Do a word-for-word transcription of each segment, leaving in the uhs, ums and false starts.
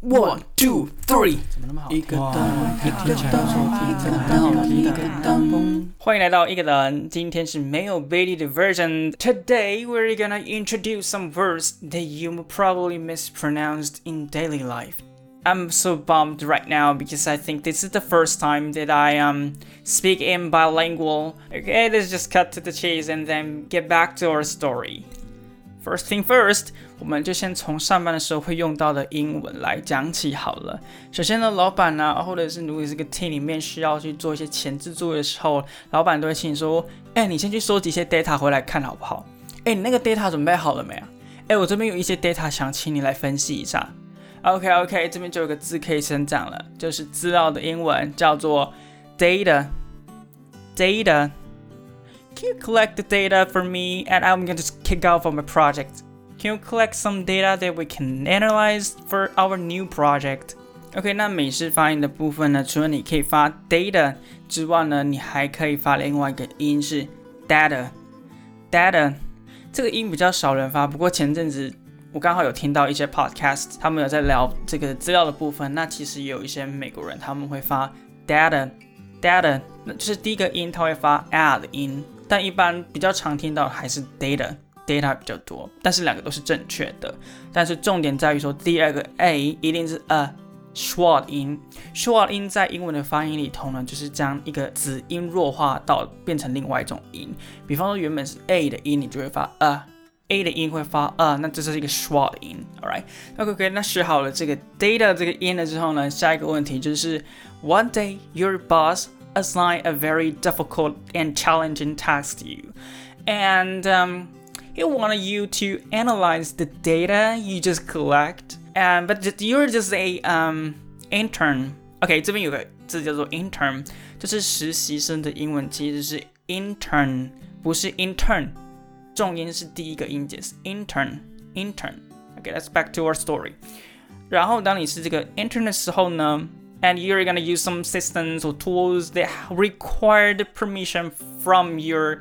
One, two, three， 怎么那么好？ 一个灯，一个灯，一个灯，一个灯。欢迎来到一个人，今天是没有 Bailey 的 version. Today we're gonna introduce some words that you probably mispronounced in daily life. I'm so bummed right now because I think this is the first time that I um speak in bilingual. Okay, let's just cut to the chase and then get back to our story. First thing first, 我们就先从上班的时候会用到的英文来讲起好了。首先呢，老板啊，或者是如果是个 team 里面需要去做一些前置作业的时候，老板都会请你说，哎，你先去收集一些 data 回来看好不好？哎，你那个 data 准备好了没啊？哎，我这边有一些 data 想请你来分析一下。OK OK， 这边就有个字可以先讲了，就是资料的英文叫做 data。data。Can you collect the data for me and I'm going to kick off on my project? Can you collect some data that we can analyze for our new project? OK, 那美式发音的部分呢，除了你可以发 data 之外呢，你还可以发另外一个音是 data。data 这个音比较少人发，不过前阵子我刚好有听到一些 podcast， 他们有在聊这个资料的部分，那其实也有一些美国人他们会发 data。data 那就是第一个音他会发 a 的音，但一般比较常听到的还是 data data 比较多，但是两个都是正确的。但是重点在于说第二个 a 一定是 a schwa 音。schwa 音在英文的发音里头呢，就是将一个子音弱化到变成另外一种音。比方说原本是 a 的音，你就会发 a。A 的音会发 a， 那这是一个 schwa 的音 ，alright？ OK， 那学好了这个 data 这个音了之后呢，下一个问题就是 One day your boss assigned a very difficult and challenging task to you, and um, he wanted you to analyze the data you just collect, and but you're just a um intern. OK， 这边有个字叫做 intern， 就是实习生的英文其实是 intern， 不是 intern。重音是第一个音节是 intern intern。OK, let's back to our story. 然后当你是这个 intern 的时候呢 and you're gonna use some systems or tools that require the permission from your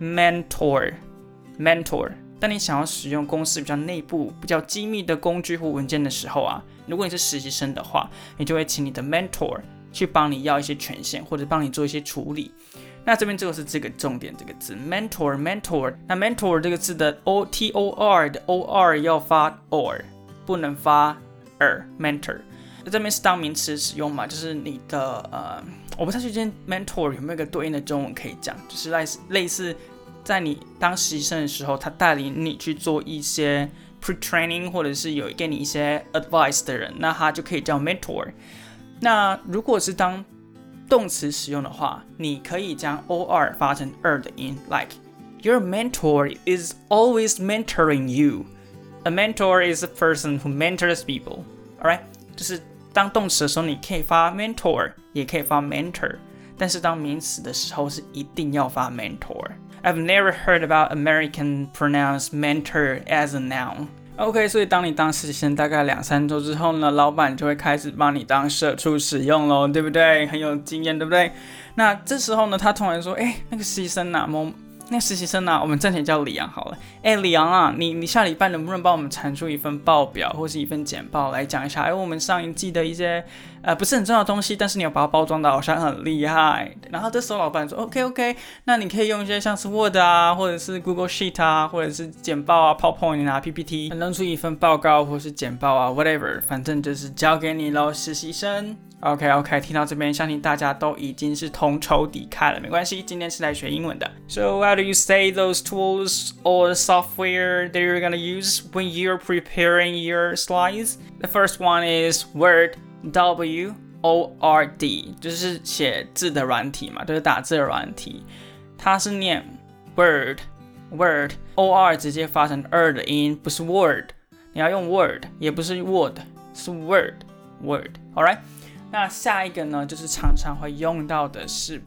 mentor. mentor. 当你想要使用公司比较内部、比较机密的工具或文件的时候啊，如果你是实习生的话，你就会请你的 mentor 去帮你要一些权限，或者帮你做一些处理。那这边就是这个重点，这个字 mentor mentor。那 mentor 这个字的 o t o r 的 o r 要发 or， 不能发 er mentor。那这边是当名词使用嘛，就是你的呃，我不太确定 mentor 有没有一个对应的中文可以讲，就是类似类似在你当实习生的时候，他带领你去做一些 pre-training， 或者是有给你一些 advice 的人，那他就可以叫 mentor。那如果是当动词使用的话，你可以将 or 发成 er 的音 like your mentor is always mentoring you. A mentor is a person who mentors people. Alright? 就是当动词的时候，你可以发 mentor， 也可以发 mentor， 但是当名词的时候是一定要发 mentor. I've never heard about American pronounce mentor as a noun.OK， 所以当你当实习生大概两三周之后呢，老板就会开始帮你当社畜使用咯，对不对？很有经验，对不对？那这时候呢，他突然说，哎，那个实习生啊，某那个实习生啊，我们暂且叫李阳好了。哎，李阳啊，你你下礼拜能不能帮我们产出一份报表或是一份简报来讲一下？哎，我们上一季的一些呃不是很重要的东西，但是你有把它包装的好像很厉害。然后这时候老板说 ，OK OK， 那你可以用一些像是 Word 啊，或者是 Google Sheet 啊，或者是简报啊 ，PowerPoint 啊 ，P P T， 弄出一份报告或是简报啊 ，whatever， 反正就是交给你咯，实习生。OK OK， 听到这边，相信大家都已经是同仇敌忾了，没关系，今天是来学英文的。So how do you say those tools or software that you're gonna use when you're preparing your slides? The first one is Word, W O R D， 就是写字的软体嘛，就是打字的软体，它是念 Word Word O R 直接发成 er 的音，不是 Word， 你要用 Word， 也不是 Word， 是 Word Word，alright。那下一个呢，就是常常会用到的是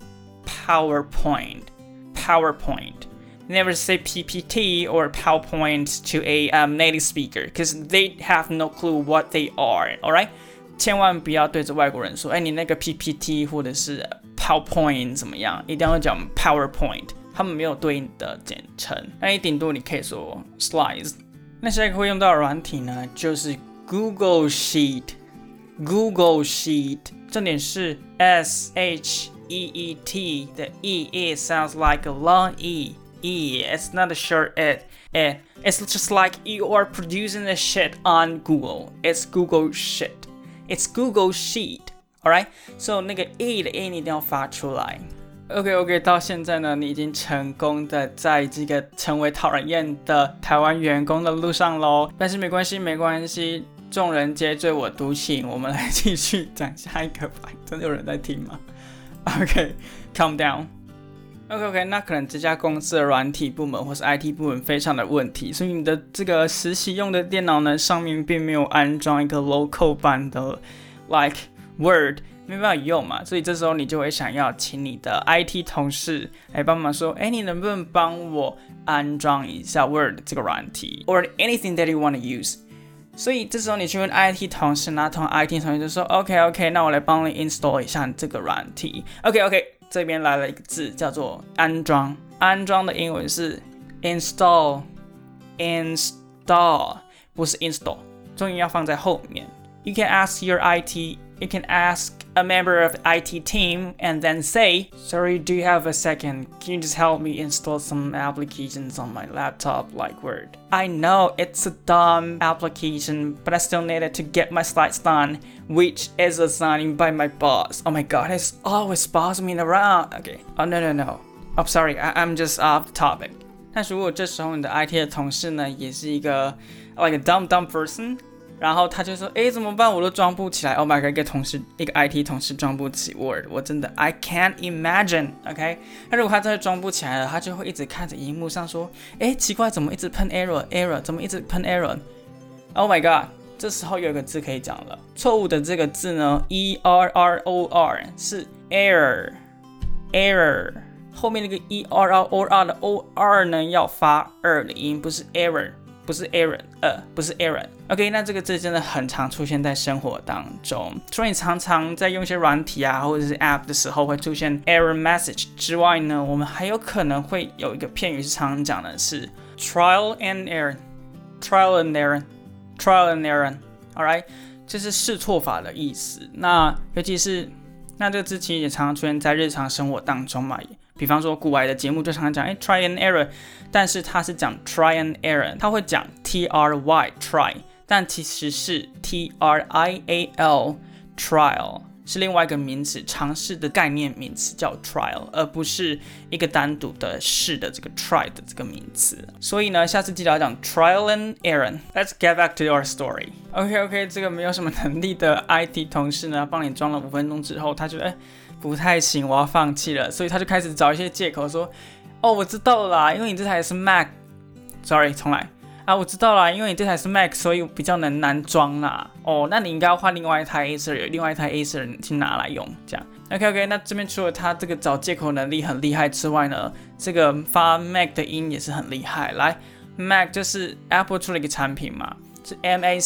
PowerPoint PowerPoint Never say P P T or PowerPoint to a um, native speaker because they have no clue what they are, alright? 千万不要对着外国人说，哎，你那个 P P T 或者是 PowerPoint 怎么样？一定要讲 PowerPoint， 他们没有对应的简称。那你顶多你可以说 Slides。那下一个会用到的软体呢，就是 Google Sheet。 Google Sheet， 重点是 S H E E T 的 E it sounds like a long E E it's not a short it it it's just like you are producing a shit on Google it's Google shit it's Google Sheet alright so 那个 E 的 E 你一定要发出来。OK OK 到现在呢，你已经成功的在这个成为讨人厌的台湾员工的路上咯，但是没关系没关系，众人皆醉我独醒，我们来继续讲下一个吧。真的有人在听吗？ OK calm down OK OK 那可能这家公司的软体部门或是 I T 部门非常的问题，所以你的这个实习用的电脑呢，上面并没有安装一个 local 版的 like Word， 没办法用嘛，所以这时候你就会想要请你的 I T 同事来帮忙说，哎，你能不能帮我安装一下 Word 这个软体 or anything that you want to use， 所以这时候你去问 I T 同事，那通常 I T 同事就说 OK OK 那我来帮你 install 一下这个软体 OK OK 这边来了一个字叫做安装，安装的英文是 install install 不是 install， 重音要放在后面。 You can ask your I T You can ask a member of the I T team and then say, sorry, do you have a second? Can you just help me install some applications on my laptop like Word? I know it's a dumb application, but I still need it to get my slides done, which is assigned by my boss. Oh my god, it's always bossing me around. Okay. Oh, no, no, no. I'm sorry, I I'm just off the topic. 但如果这时候你的 I T 的同事呢，也是一个 like a dumb dumb person，然后他就说，哎，怎么办？我都装不起来。Oh my god， 一个同事，一个 I T 同事装不起 Word， 我真的 I can't imagine。OK， 那如果他真的装不起来了，他就会一直看着荧幕上说，哎，奇怪，怎么一直喷 error error， 怎么一直喷 error？Oh my god， 这时候有一个字可以讲了，错误的这个字呢 ，E R R O R 是 error error， 后面那个 E R R O R 的 O R 呢要发二的音，不是 error。不是 error， 呃，不是 error。OK， 那这个字真的很常出现在生活当中，除了你常常在用一些软体啊或者是 app 的时候会出现 error message 之外呢，我们还有可能会有一个片语是常常讲的是 trial and error，trial and error，trial and error。Alright， 这是试错法的意思。那尤其是那这个字其实也常常出现在日常生活当中嘛。比方说古玩的节目就常常讲哎 try and error， 但是他是讲 try and error， 他会讲 T R Y try， 但其实是 T R I A L trial， 是另外一个名词，尝试的概念名词叫 trial， 而不是一个单独的试的这个 try 的这个名词。所以呢，下次记得要讲 trial and error。 Let's get back to our story。 OK OK， 这个没有什么能力的 I T 同事呢，帮你装了五分钟之后，他觉得哎不太行，我要放弃了，所以他就开始找一些借口说，哦，我知道了啦，因为你这台是 Mac，sorry， 重来啊，我知道啦，因为你这台是 Mac， 所以比较能难装啦。哦，那你应该要换另外一台 Acer， 有另外一台 Acer 去拿来用，这样。OK OK， 那这边除了他这个找借口能力很厉害之外呢，这个发 Mac 的音也是很厉害。来 ，Mac 就是 Apple 出了一个产品嘛，是 M A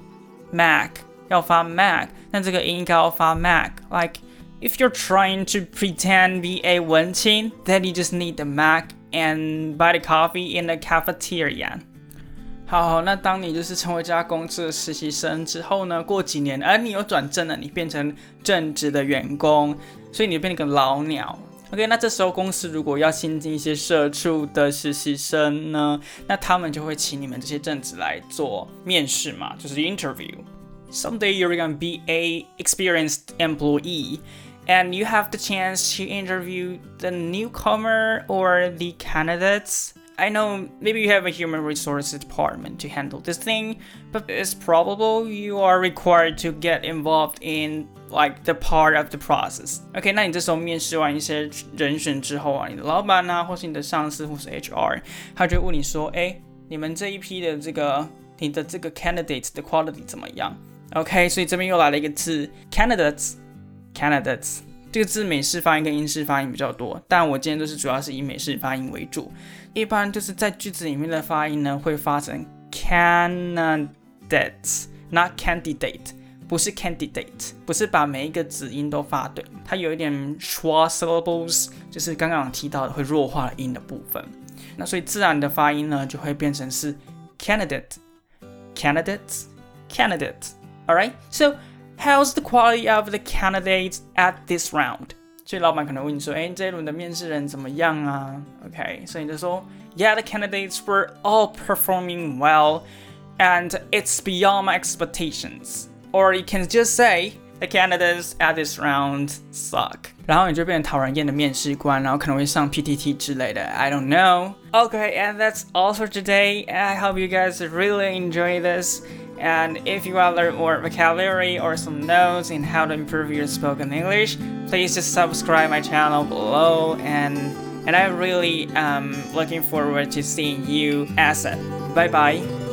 C，Mac 要发 Mac， 但这个音应该要发 Mac，like。If you're trying to pretend be a 文青, then you just need the Mac and buy the coffee in the cafeteria. 好好，那当你就是成为这家公司的实习生之后呢，过几年，而你有转正了，你变成正职的员工，所以你变成个老鸟。OK， 那这时候公司如果要新进一些社畜的实习生呢，那他们就会请你们这些正职来做面试嘛，就是 interview。Someday you're gonna be a experienced employee.And you have the chance to interview the newcomer or the candidates. I know maybe you have a human resources department to handle this thing, but it's probable you are required to get involved in like the part of the process. OK， 那你这时候面试完一些人选之后啊，你的老板啊，或是你的上司，或是 H R， 他就问你说，哎，你们这一批的这个你的这个 candidate 的 quality 怎么样 ？OK， 所以这边又来了一个字 candidates。Candidates 这个字美式发音跟英式发音比较多，但我今天都是主要是以美式发音为主。一般就是在句子里面的发音呢，会发成 candidates， not candidate， 不是 candidate， 不是把每一个子音都发对，它有一点 schwa syllables， 就是刚刚提到的会弱化的音的部分。那所以自然的发音呢，就会变成是 candidate， candidates， candidates。Alright, so How's the quality of the candidates at this round? 所以老板可能问你说，哎，这一轮的面试人怎么样啊 ？OK， 所以你就说 Yeah, the candidates were all performing well, and it's beyond my expectations. Or you can just say the candidates at this round suck. 然后你就变成讨人厌的面试官，然后可能会上 P T T 之类的 I don't know. Okay, and that's all for today. I hope you guys really enjoy this. And if you want to learn more vocabulary or some notes in how to improve your spoken English, please just subscribe my channel below. And and I'm really um looking forward to seeing you ASAP. Bye bye.